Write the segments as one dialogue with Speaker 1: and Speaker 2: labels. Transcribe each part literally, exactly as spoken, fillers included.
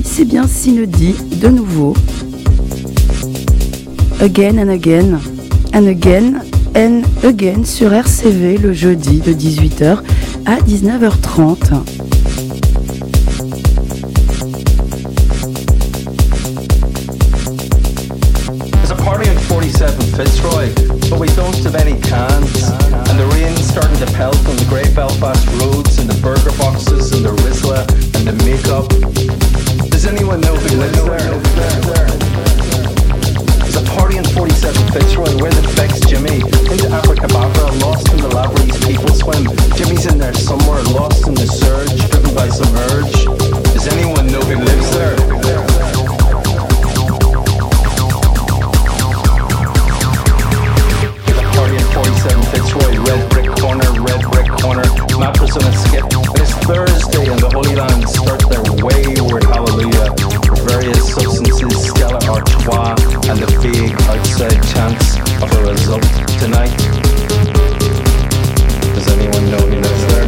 Speaker 1: c'est bien Synodie de nouveau. Again and again, and again, and again sur R C V le jeudi de dix-huit heures à dix-neuf heures trente.
Speaker 2: There's a party on forty-seven Fitzroy, but we don't have any cans. And the rain's starting to pelt on the Great Belfast roads and the burger boxes and the Rizla and the makeup. Does anyone know who lives there? There's a party on forty-seven Fitzroy where the Bex Jimmy into Abracadabra, lost in the Lavery's people swim. Jimmy's in there somewhere, lost in the surge, driven by some urge. Does anyone know who lives there? forty-seven Fitzroy, red brick corner, red brick corner, mattress on a skip. And it's Thursday and the Holy Land start their wayward hallelujah for various substances, Stella Artois, and the vague outside chance of a result tonight. Does anyone know who lives there?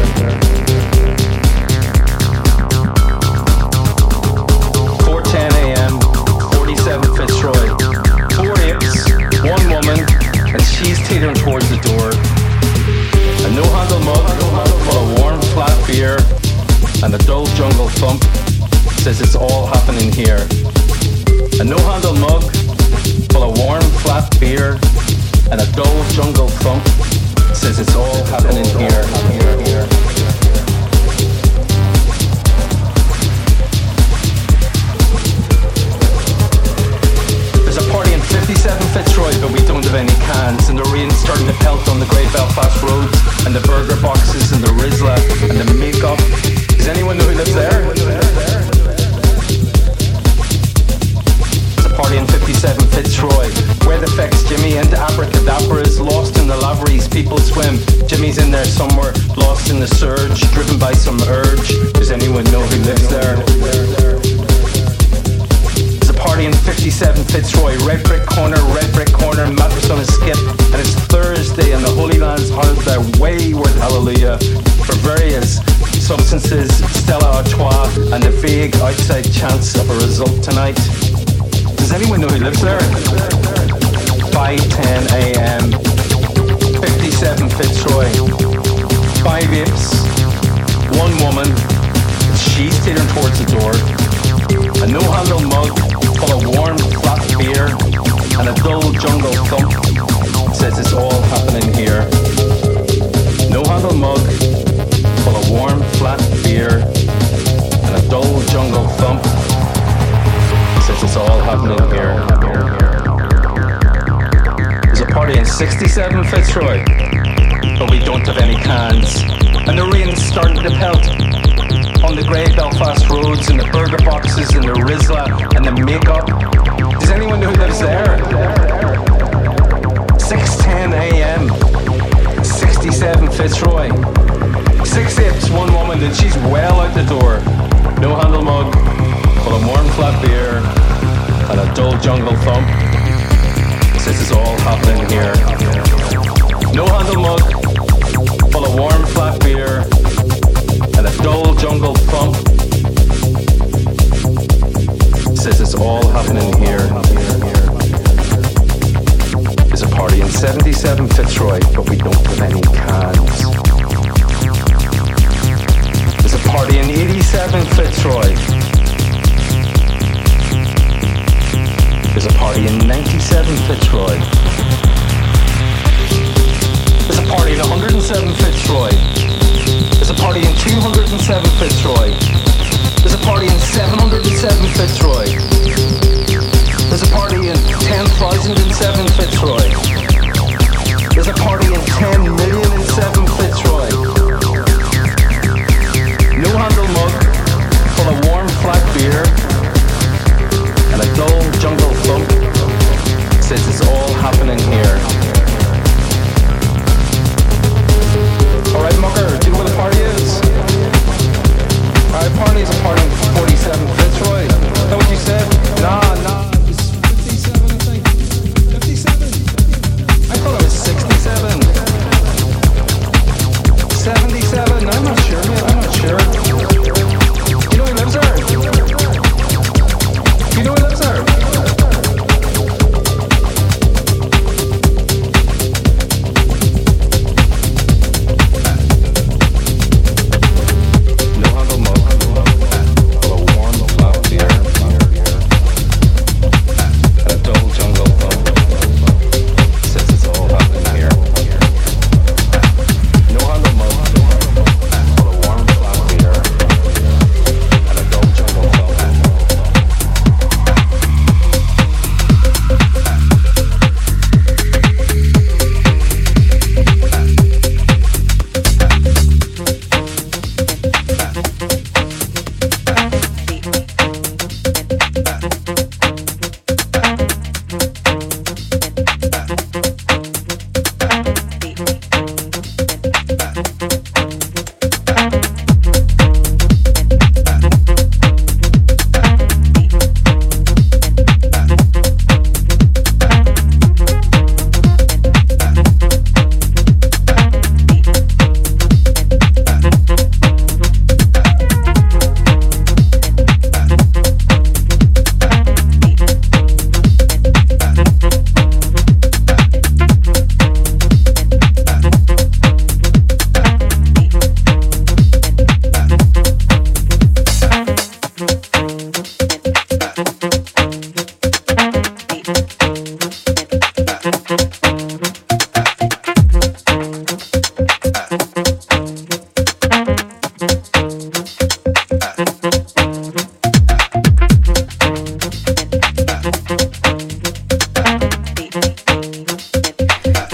Speaker 2: four ten a.m., forty-seven Fitzroy, four apes, one woman, and she's teetering towards the door. A no-handle mug full of warm, flat beer and a dull jungle thump says it's all happening here. A no-handle mug full of warm, flat beer and a dull jungle thump says it's all happening here. here, here. fifty-seven Fitzroy, but we don't have any cans, and the rain's starting to pelt on the Great Belfast roads, and the burger boxes, and the Rizla, and the makeup. Does anyone know who lives there? There's a party in fifty-seven Fitzroy, where the Fex Jimmy into Abracadabra is lost in the Lavery's people swim. Jimmy's in there somewhere, lost in the surge, driven by some urge. Does anyone know who lives there? Party in fifty-seven Fitzroy, red brick corner, red brick corner, mattress on a skip, and it's Thursday and the Holy Land's heard their wayward hallelujah for various substances, Stella Artois, and the vague outside chance of a result tonight. Does anyone know who lives there? five ten a.m. fifty-seven Fitzroy, five apes, one woman, she's teetering towards the door. A no-handle mug full of warm, flat beer and a dull jungle thump says it's all happening here. No-handle mug full of warm, flat beer and a dull jungle thump says it's all happening here. There's a party in sixty-seven Fitzroy, but we don't have any cans, and the rain's starting to pelt on the Great Belfast roads and the burger boxes and the Rizla and the makeup. Does anyone know who lives there? six ten a.m. sixty-seven Fitzroy, six apes, one woman, and she's well out the door. No handle mug full of warm flat beer and a dull jungle thump says it's all happening here. No handle mug full of warm flat beer and a dull jungle thump says it's all happening here. There's a party in seventy-seven Fitzroy, but we don't have any cans. There's a party in eighty-seven Fitzroy. There's a party in ninety-seven Fitzroy. There's a party in one hundred seven Fitzroy. There's a party in two hundred seven Fitzroy. There's a party in seven hundred seven Fitzroy. There's a party in ten thousand seven Fitzroy. There's a party in ten million seven Fitzroy. No handle mug full of warm flat beer and a dull jungle thump says it's all happening.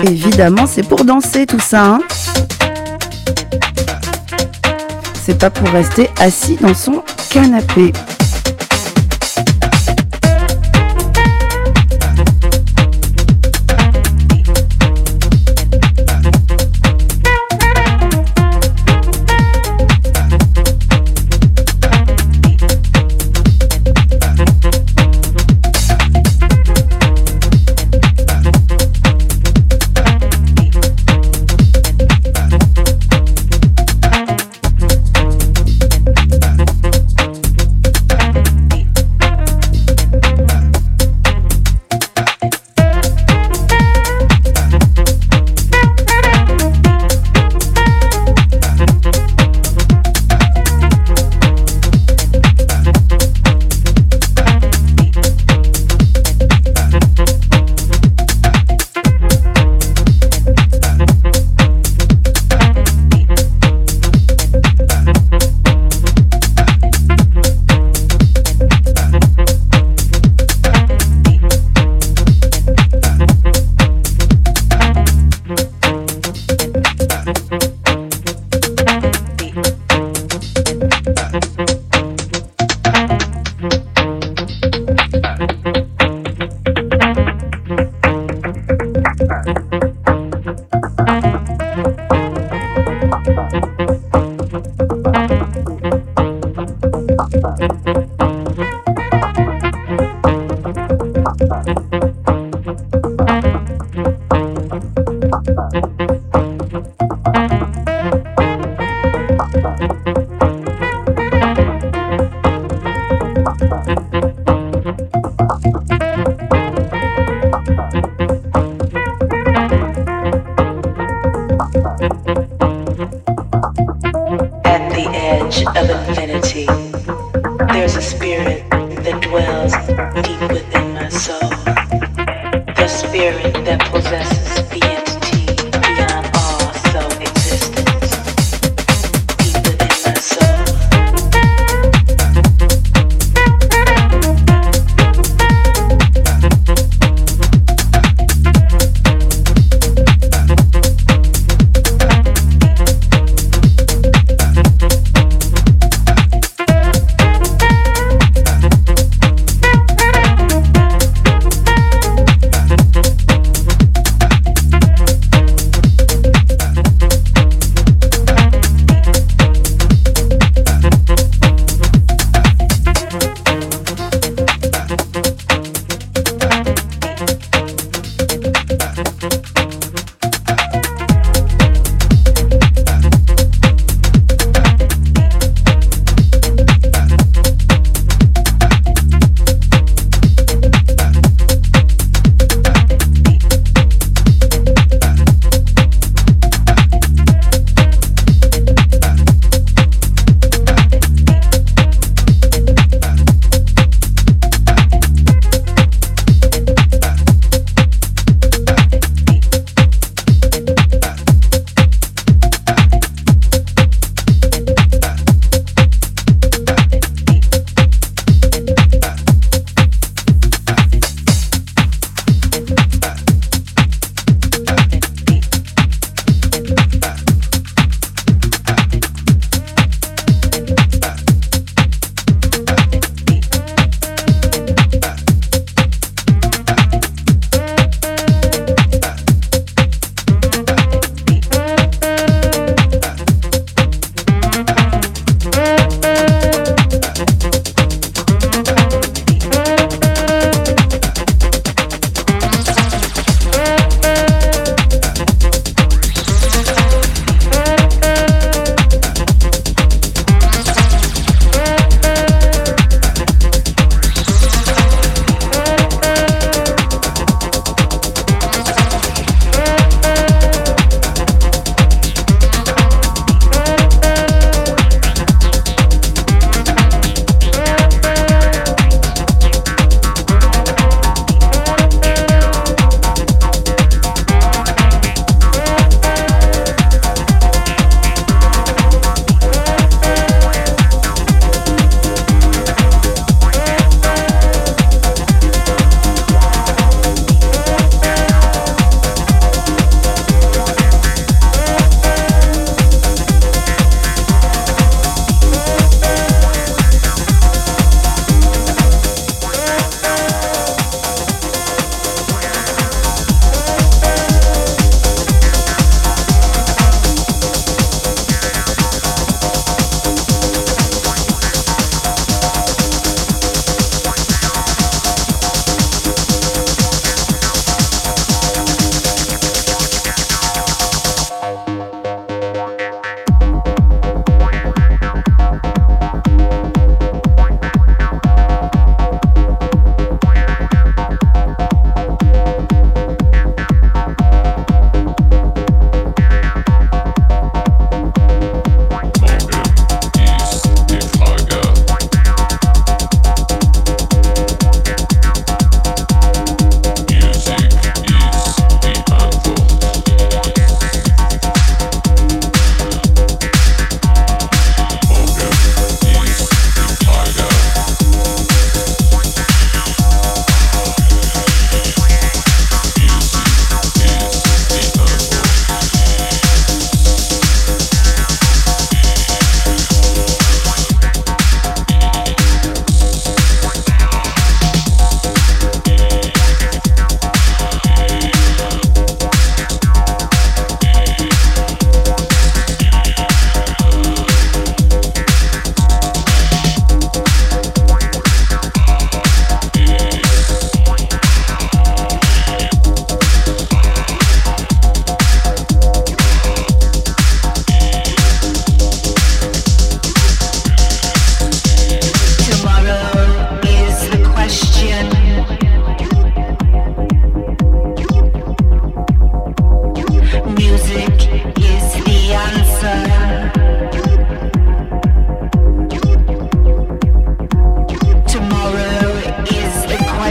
Speaker 1: Évidemment, c'est pour danser tout ça, hein. C'est pas pour rester assis dans son canapé.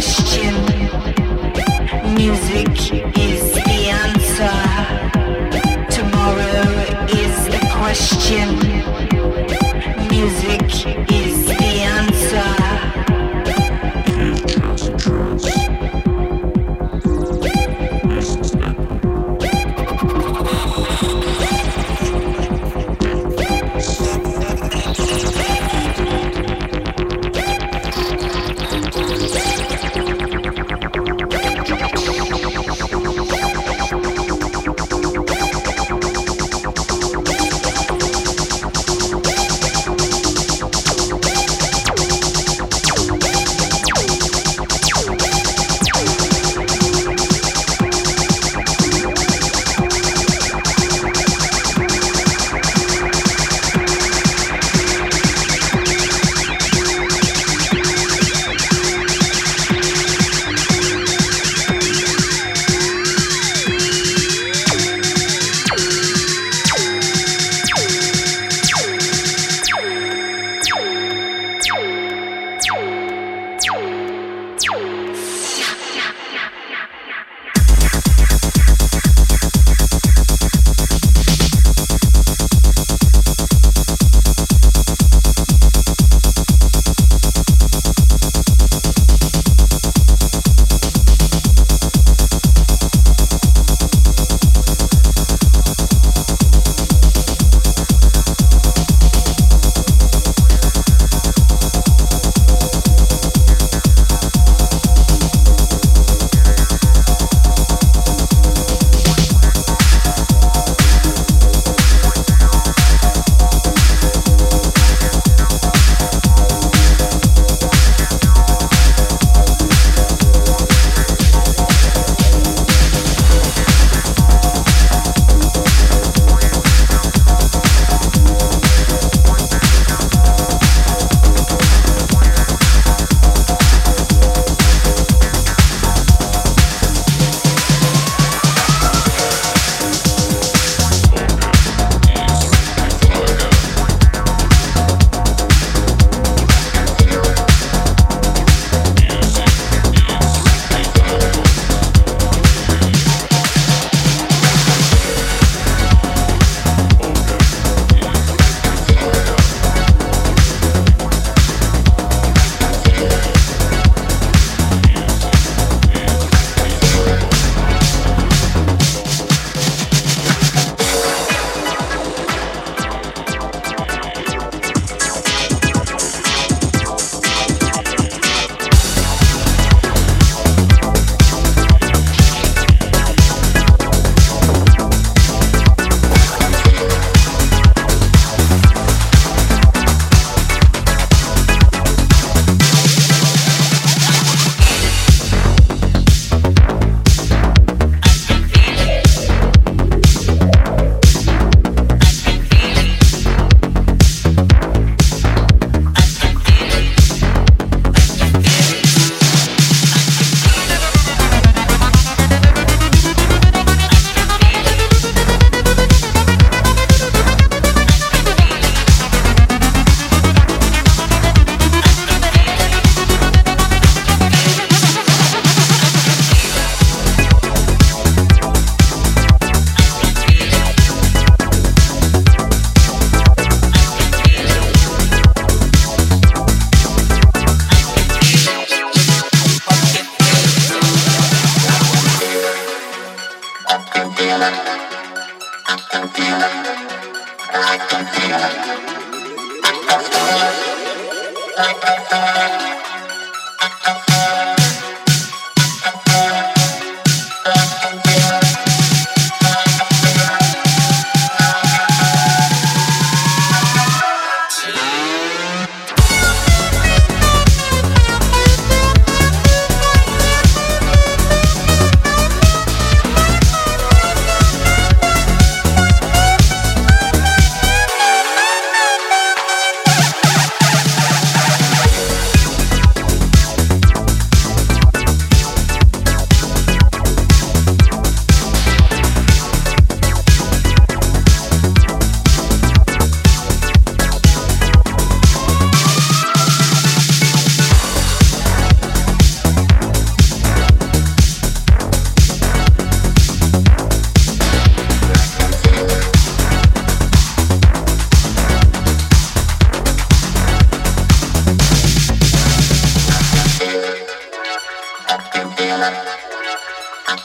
Speaker 3: question. Music is the answer. Tomorrow is the question. Music is the answer.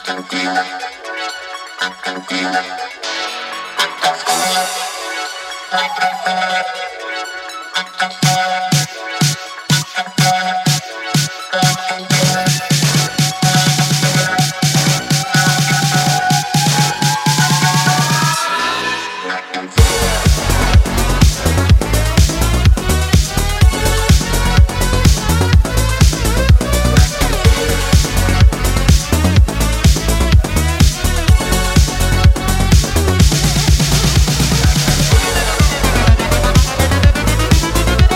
Speaker 4: We'll be right back.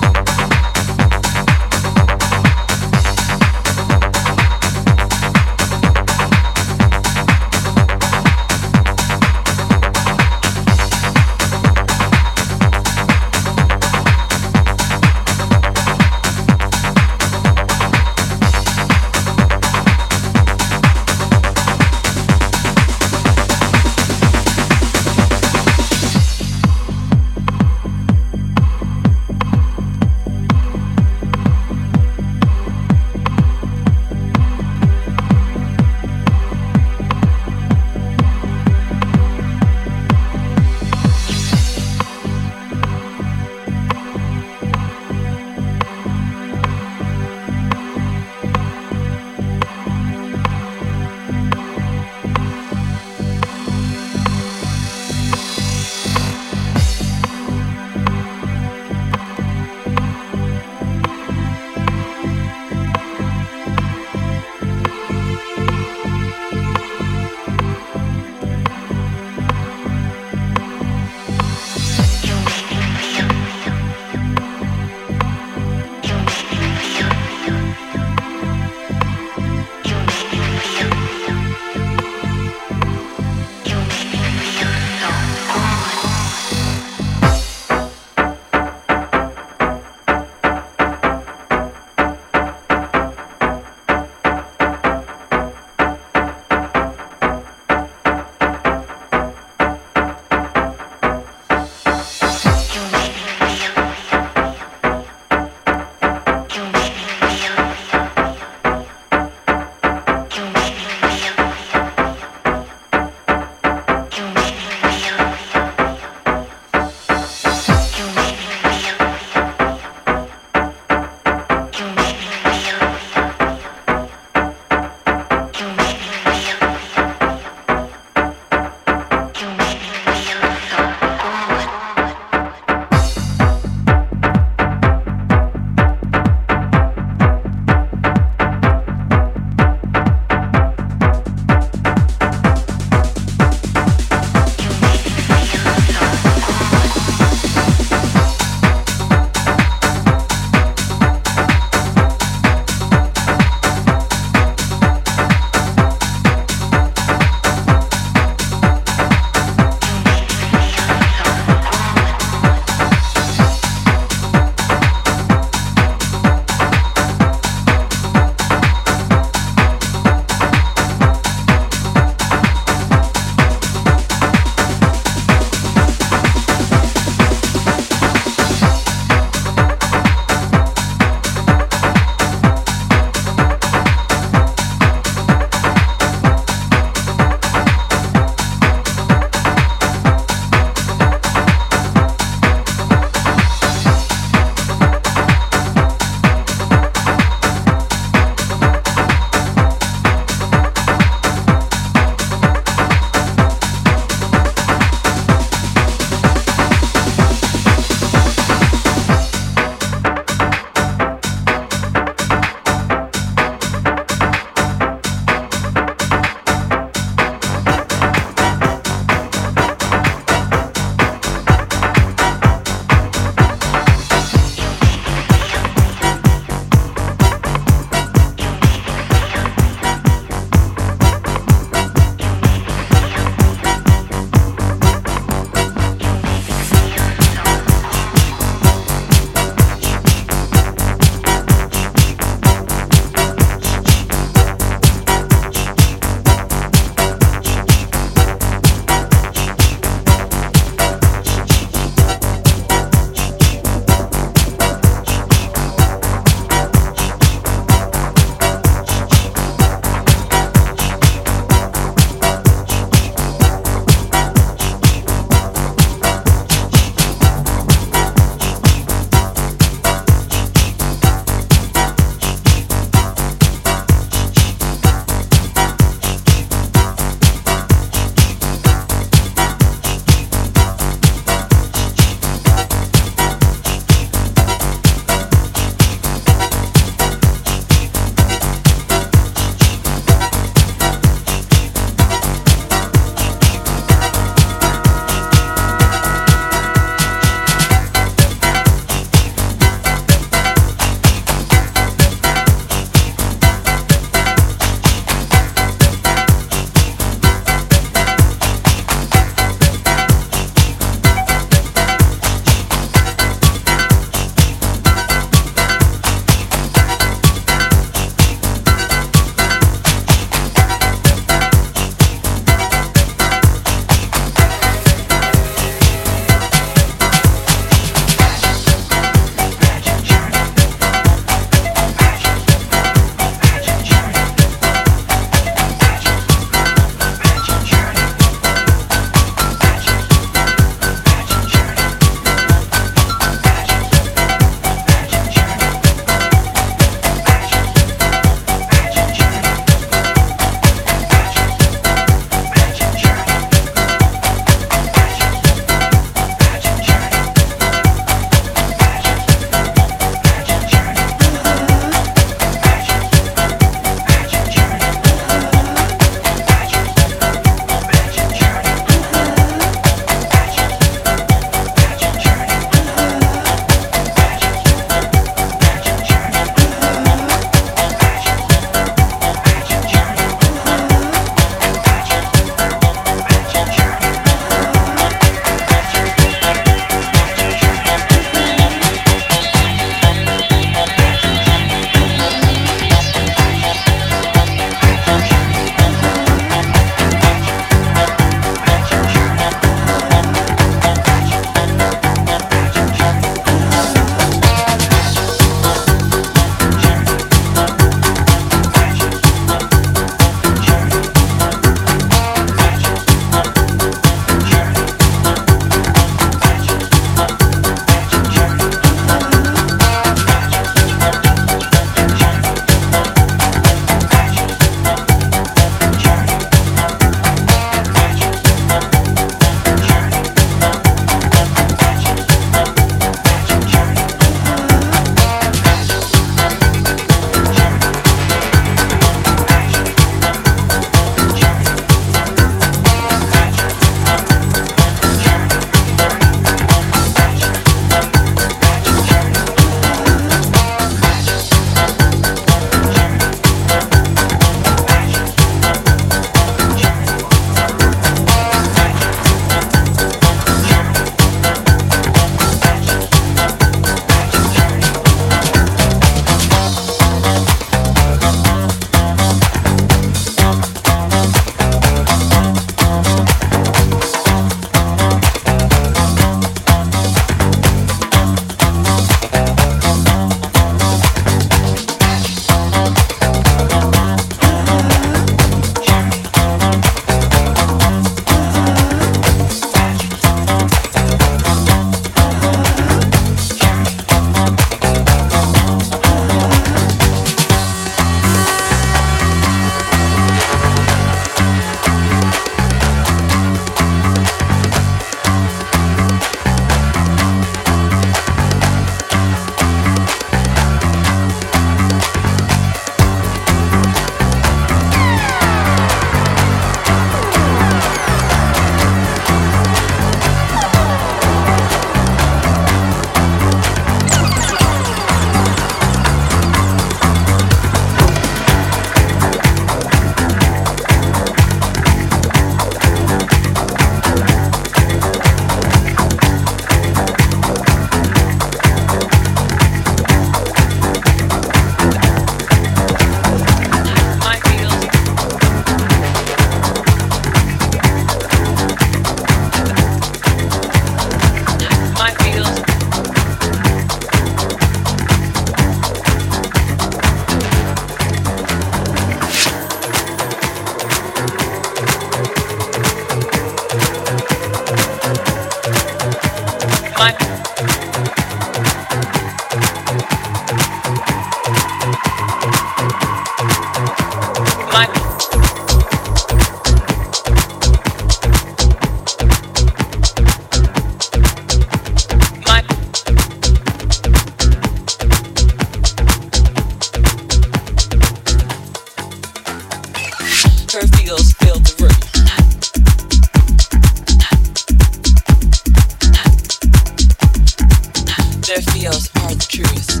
Speaker 4: truth.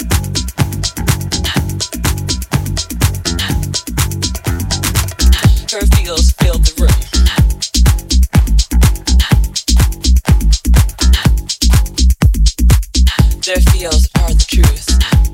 Speaker 4: Her feels filled the room. Their feels are the truth.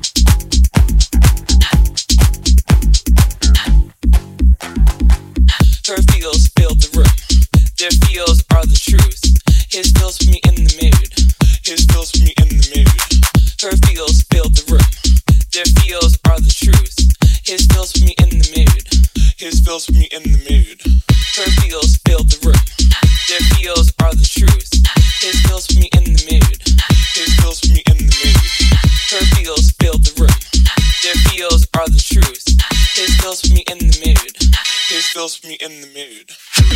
Speaker 4: Her feels filled the room. Their feels are the truth. His feels put me in the mood. His feels put me in the mood. Her feels filled the room. Their feels are the truth. His feels put me in the mood. His feels put me in the mood. Her feels filled the room. Their feels are the truth. His feels put me in the mood. His feels put me in the mood. Her feels filled the room. Their feels are the truth. His feels put me in the mood. His feels put me in the mood.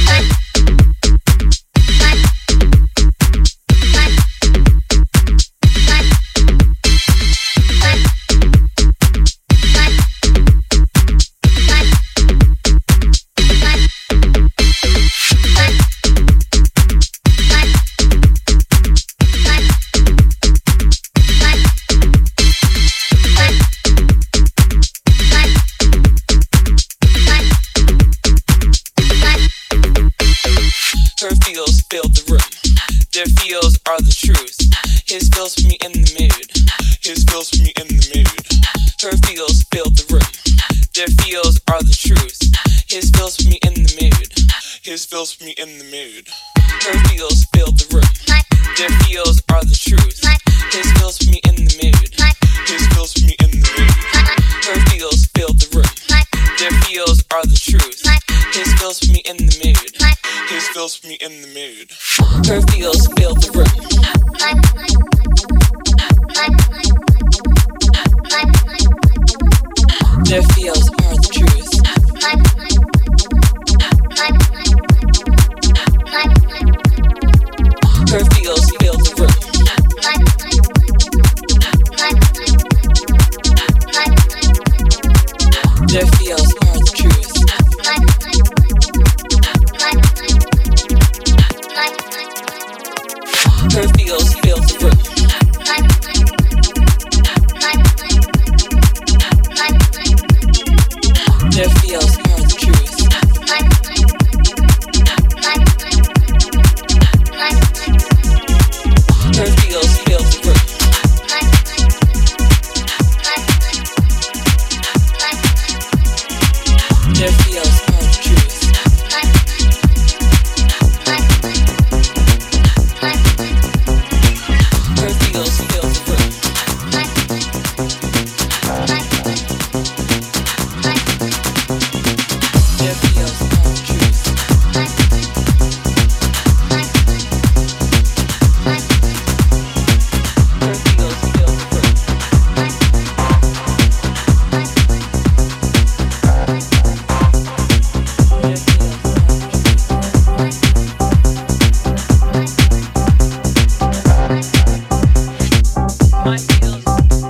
Speaker 4: Her feels filled the room. Their feels are the truth. His feels put me in the mood. His feels put me in the mood. Her feels filled the room. Their feels are the truth. His feels put me in the mood. His feels put me in the mood. Her feels filled the room. Their feels are the truth. His feels put me in the mood. His feels put me in the mood. Her feels filled the room. Their feels are the truth. His feels put me in the mood. His feels put me in the mood. Her feels filled the room. Their feels are the truth. Her feels filled the room. Their feels are the truth. Her feels filled the room. Their feels are the truth. Her feels filled the room. Their feels are the truth. Her feels filled the room. Their feels are the truth. Her feels filled the room. Their feels my feels.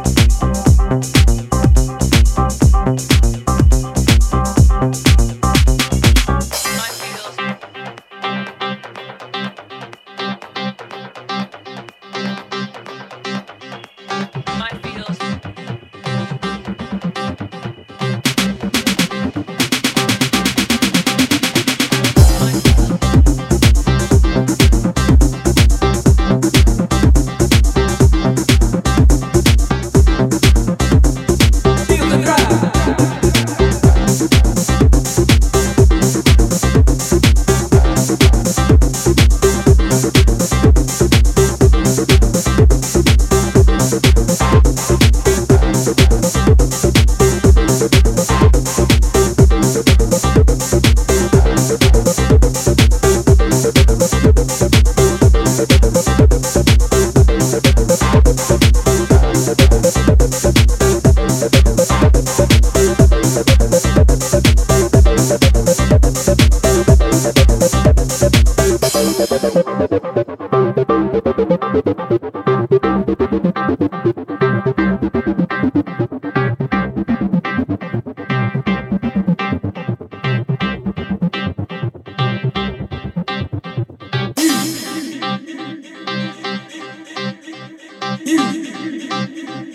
Speaker 4: My feels. My feels. You.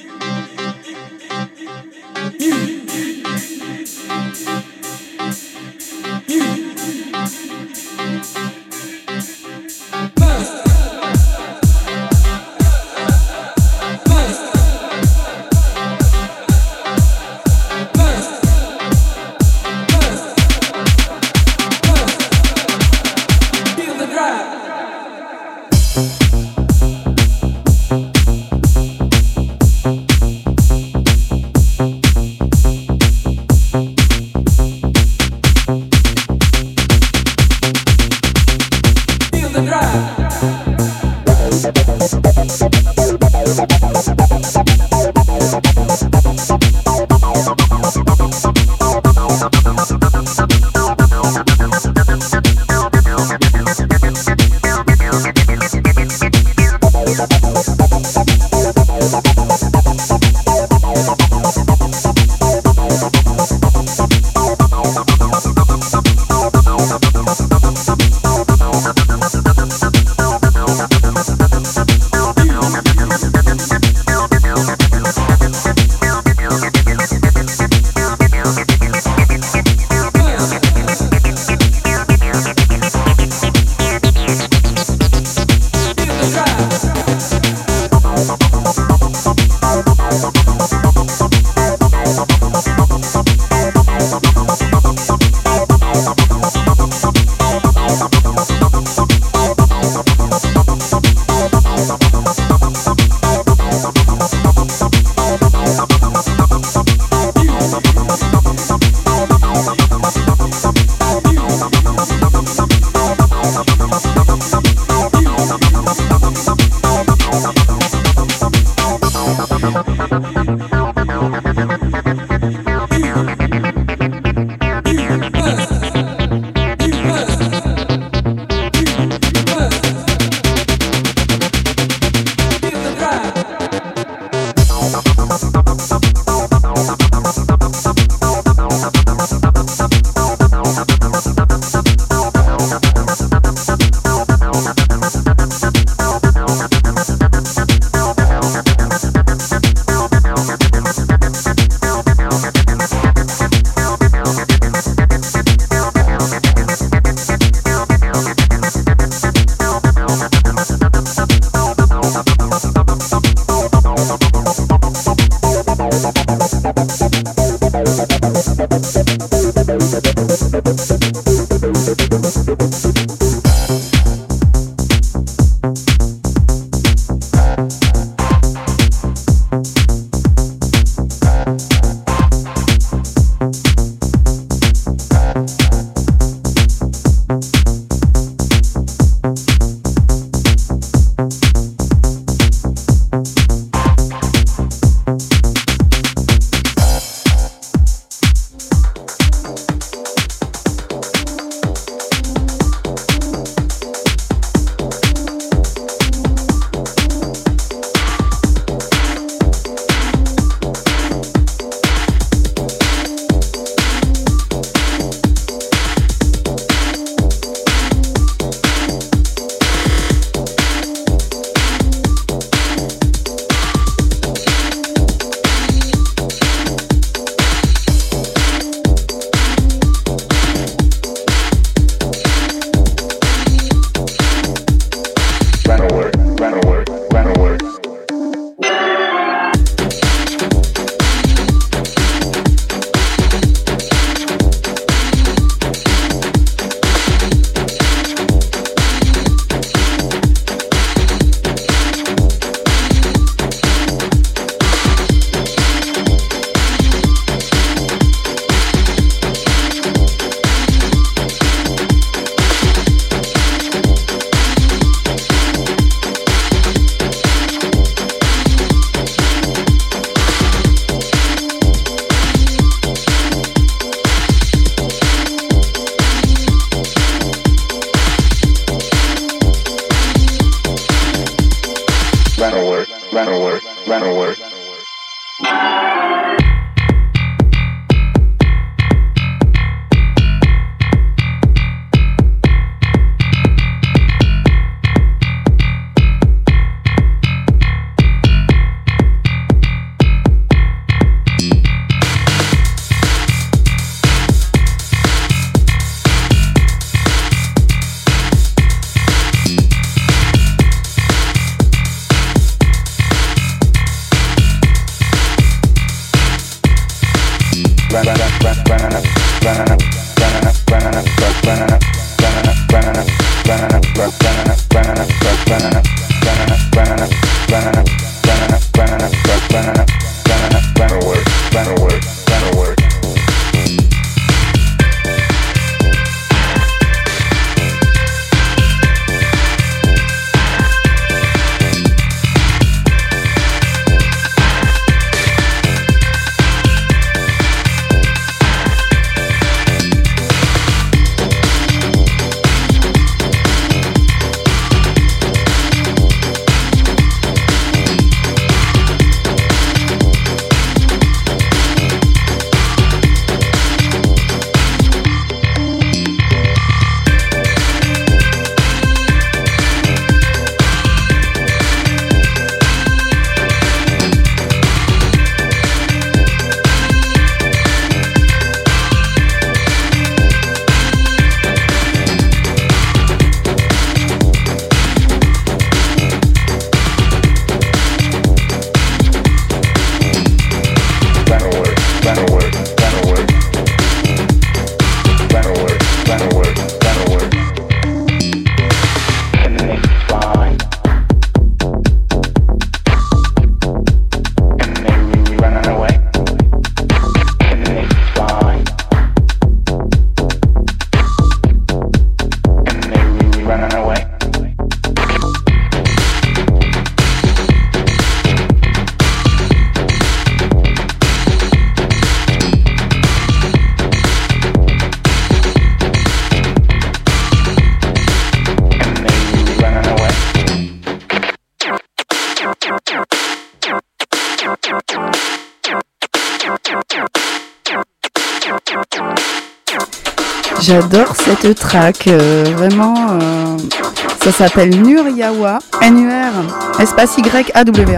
Speaker 1: J'adore cette track, euh, vraiment, euh, ça s'appelle Nuriawa, N U R, espace Y A W A.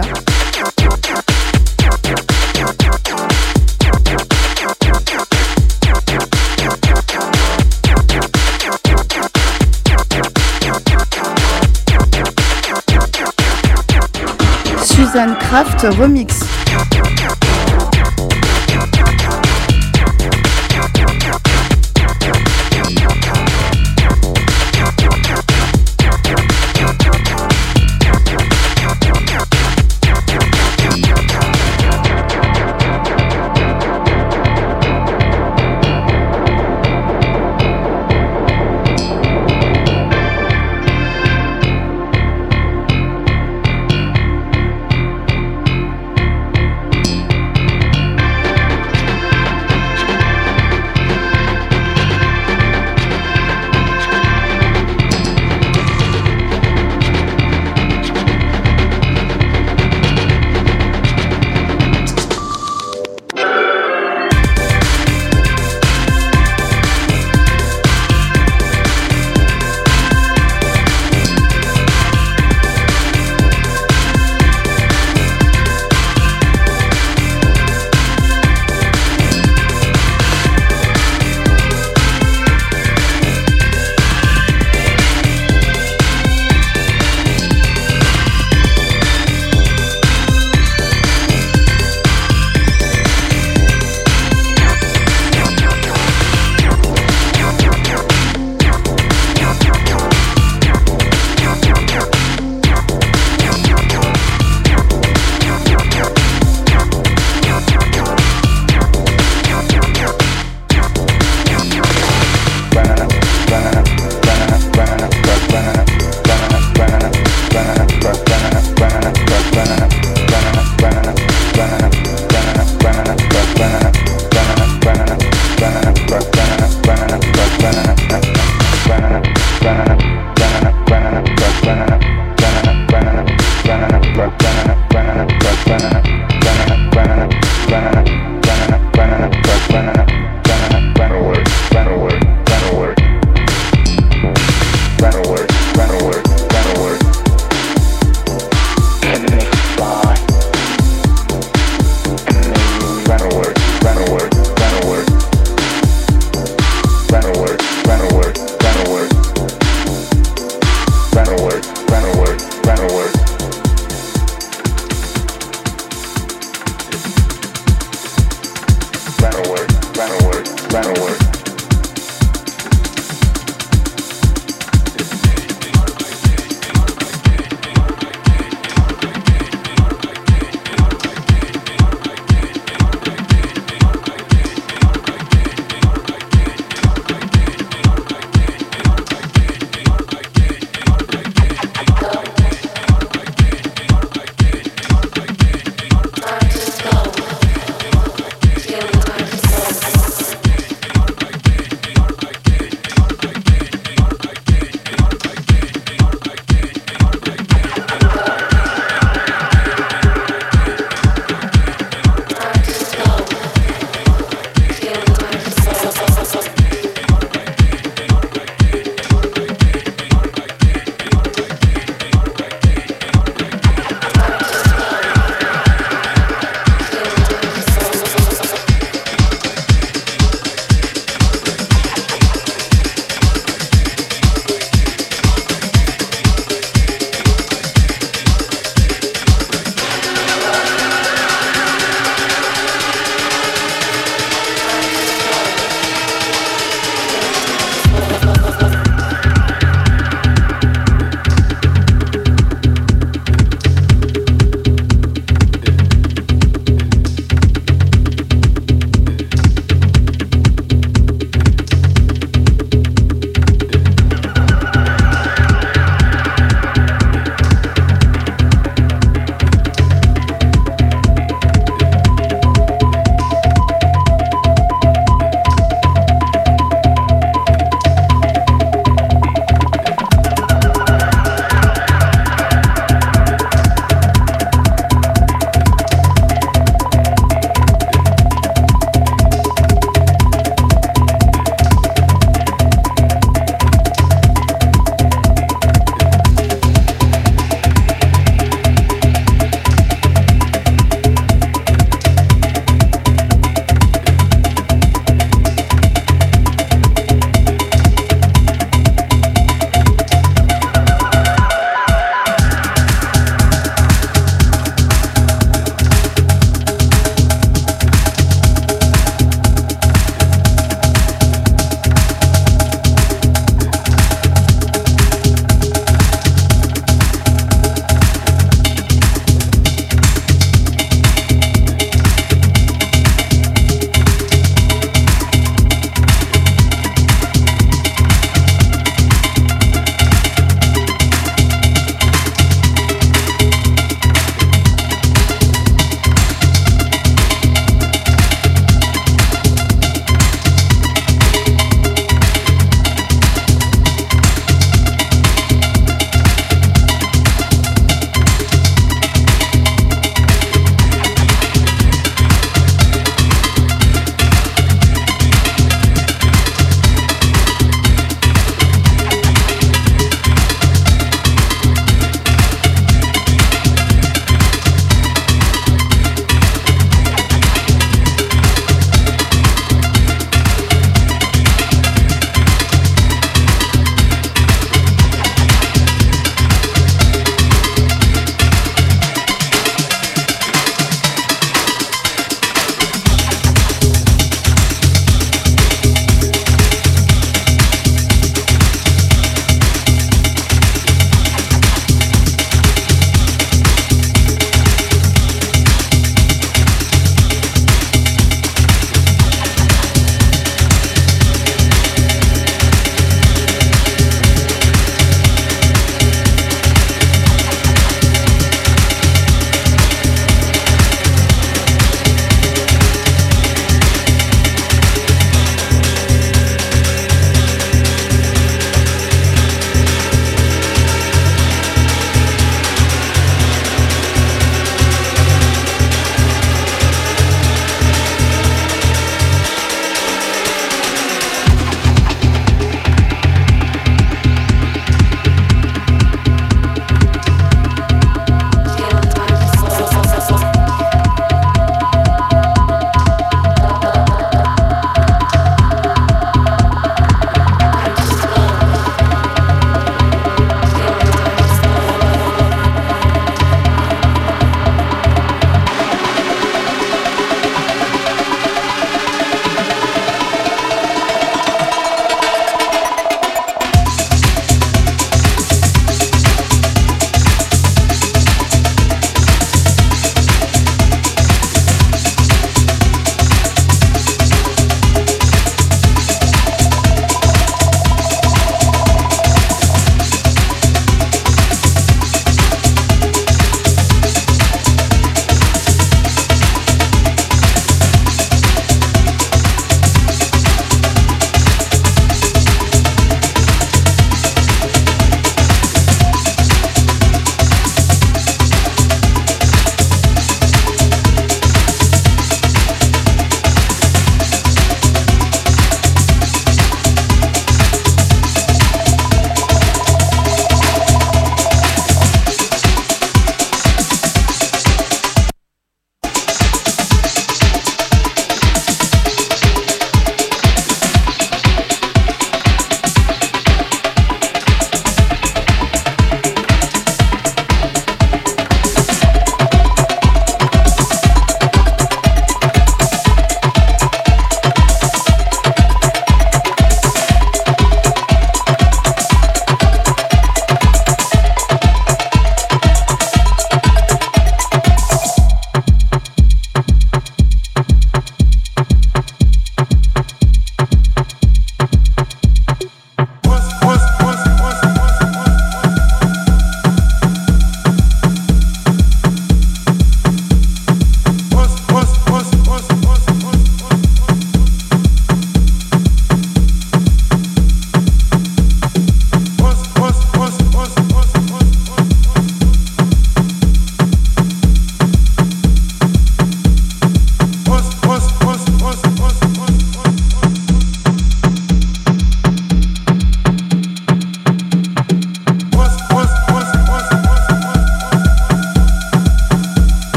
Speaker 1: Suzanne Kraft Remix.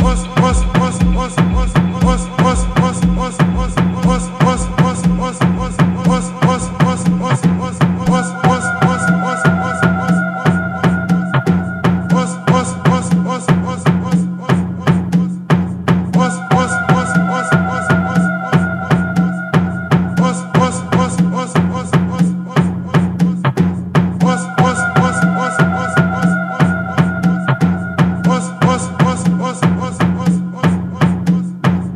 Speaker 5: Was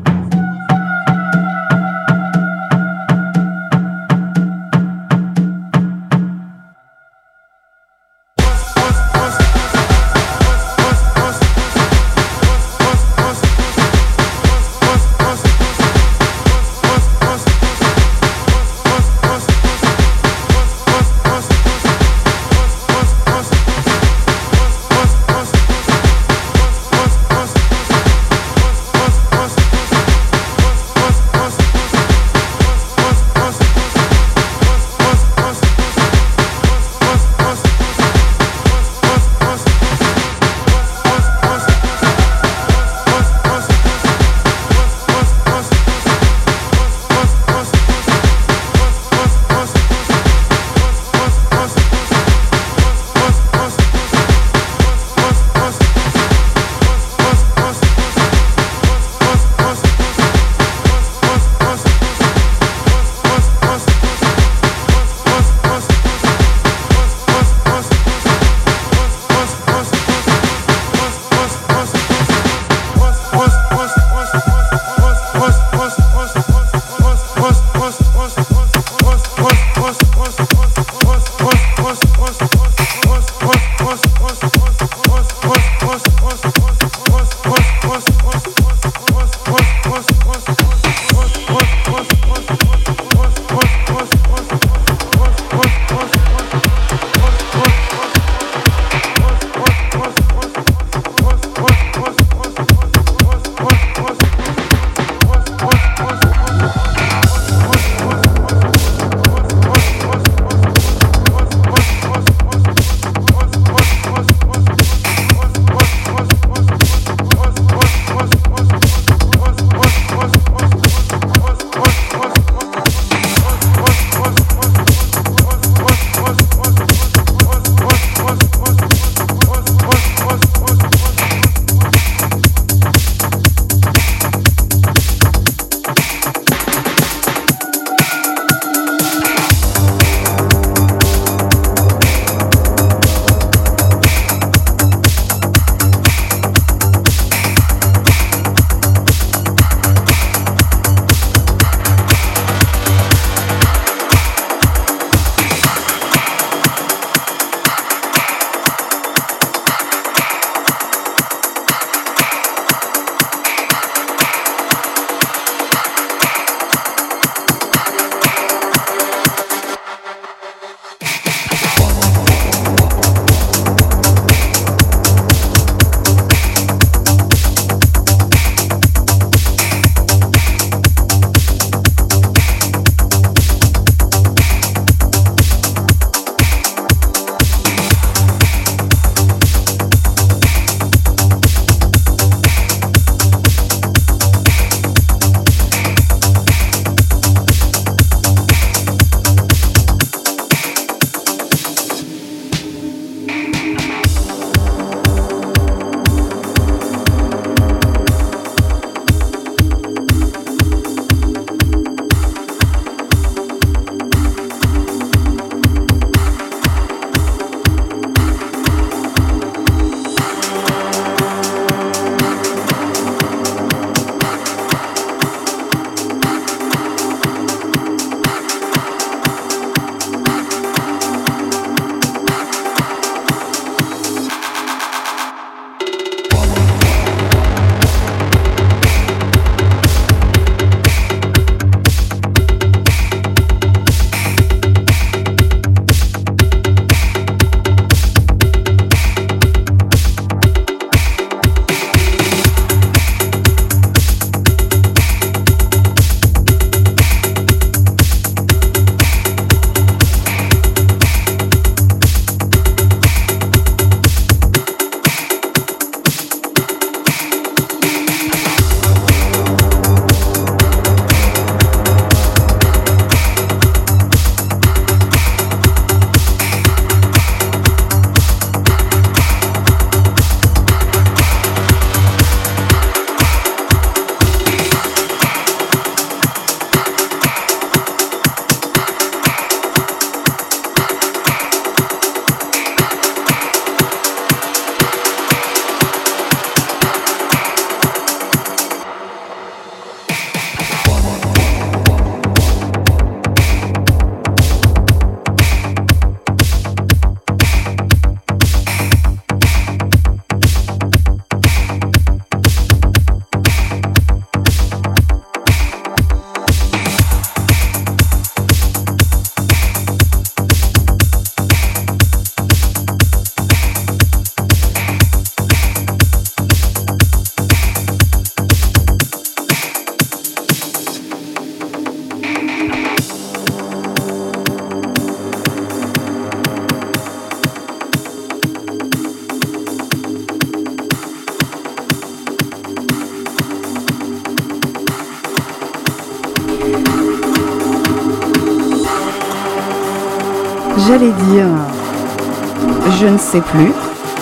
Speaker 1: j'allais dire, je ne sais plus.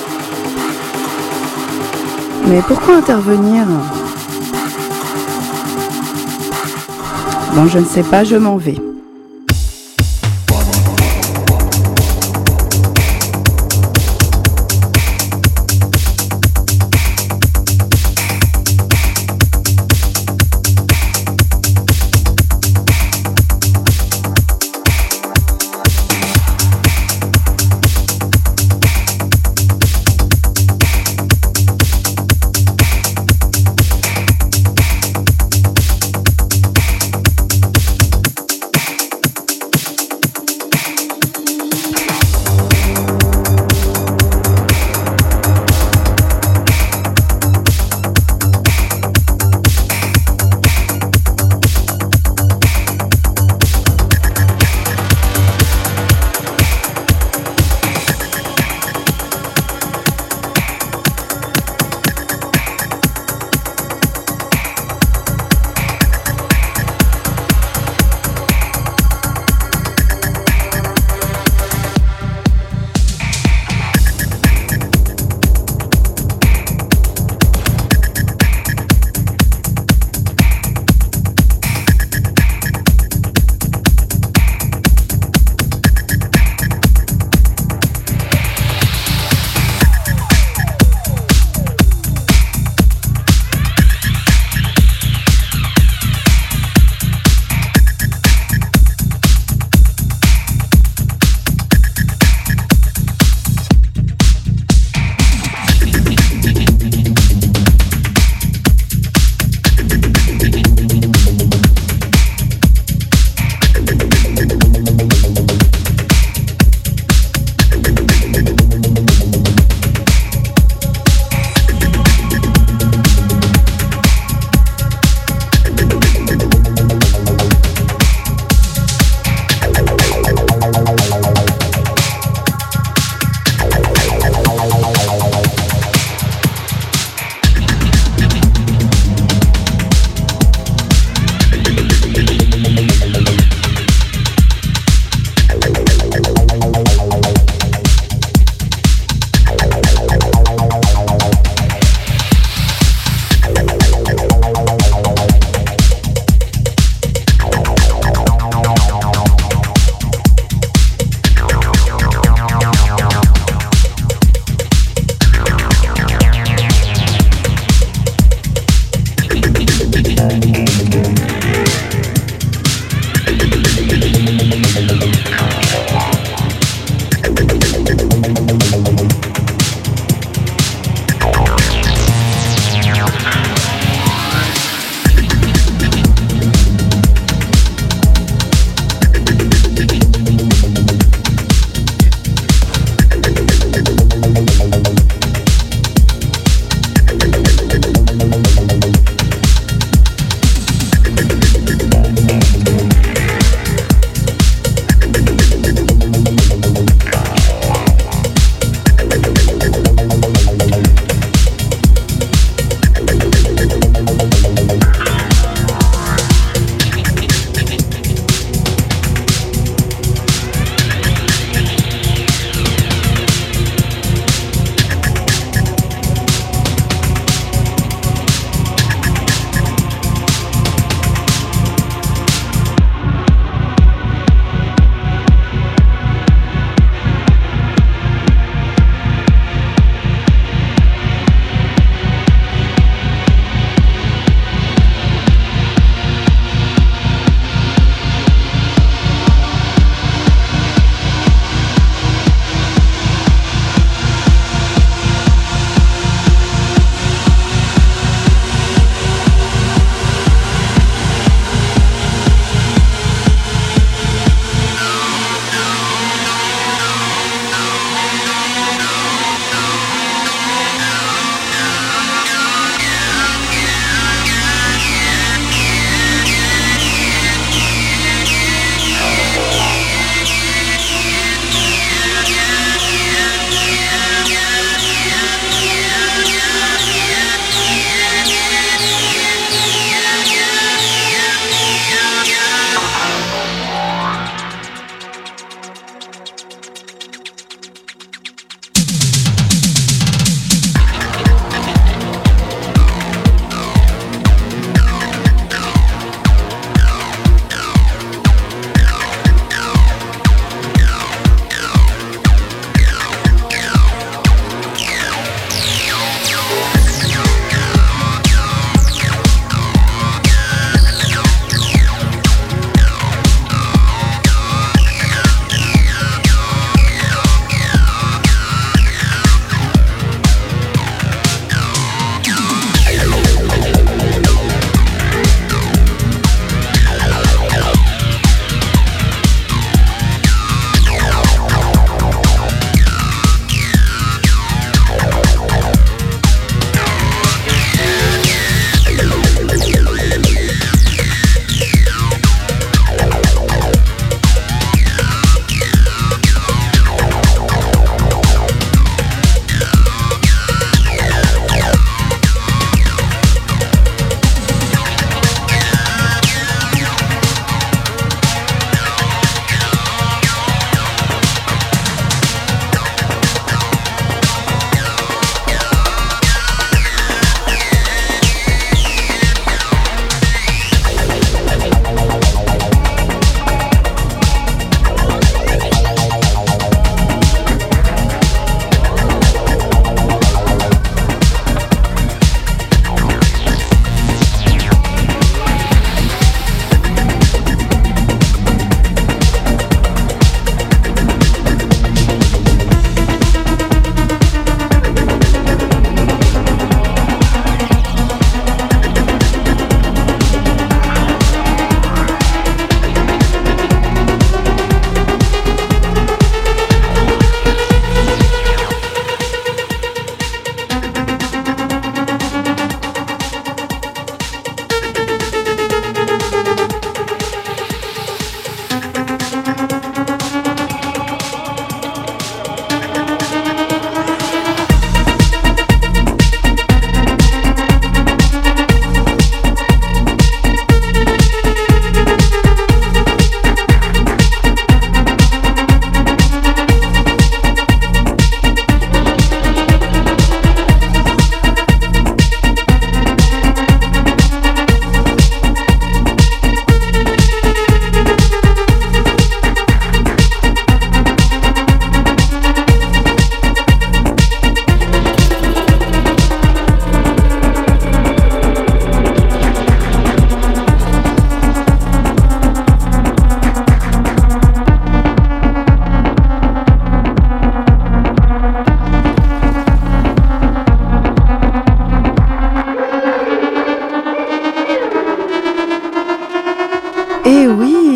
Speaker 1: Mais pourquoi intervenir? Bon, je ne sais pas, je m'en vais.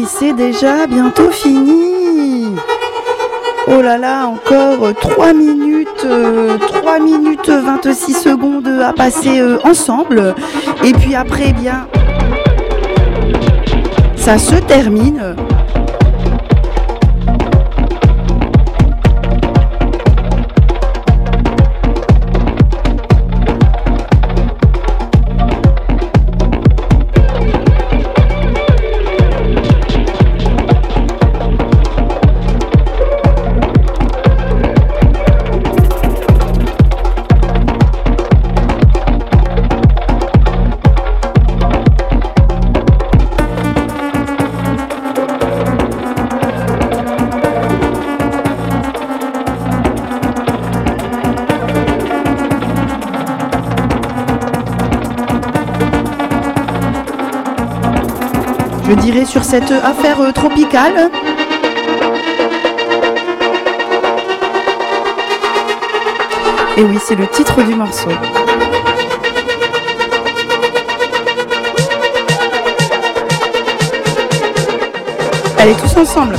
Speaker 1: oui, c'est déjà bientôt fini. Oh là là, encore trois minutes, euh, trois minutes vingt-six secondes à passer euh, ensemble. Et puis après, eh bien, ça se termine. Je dirais sur cette affaire tropicale. Et oui, c'est le titre du morceau. Allez, tous ensemble.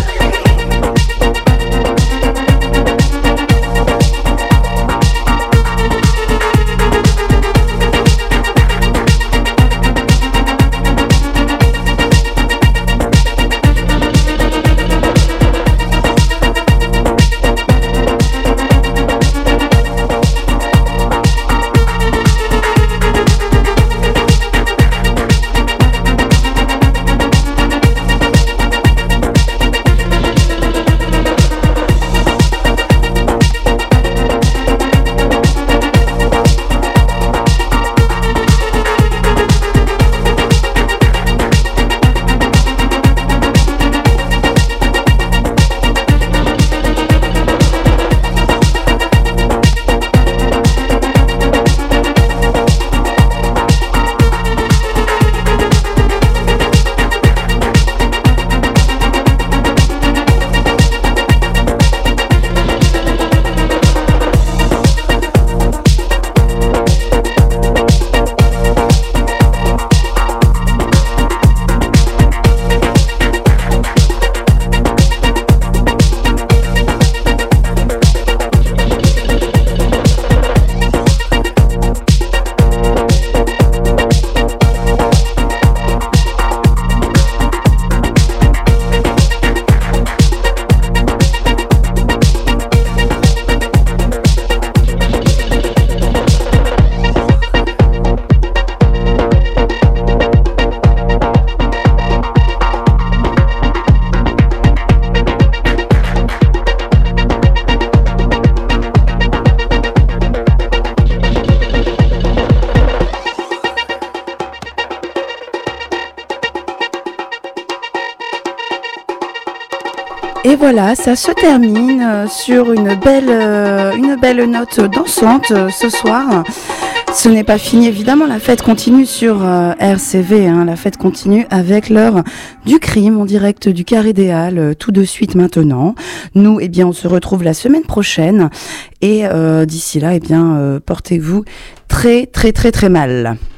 Speaker 1: Et voilà, ça se termine sur une belle, euh, une belle note dansante euh, ce soir. Ce n'est pas fini, évidemment, la fête continue sur euh, R C V, hein, la fête continue avec l'heure du crime en direct du Carré des Halles, euh, tout de suite maintenant. Nous, eh bien, on se retrouve la semaine prochaine et euh, d'ici là, eh bien, euh, portez-vous très, très, très, très mal.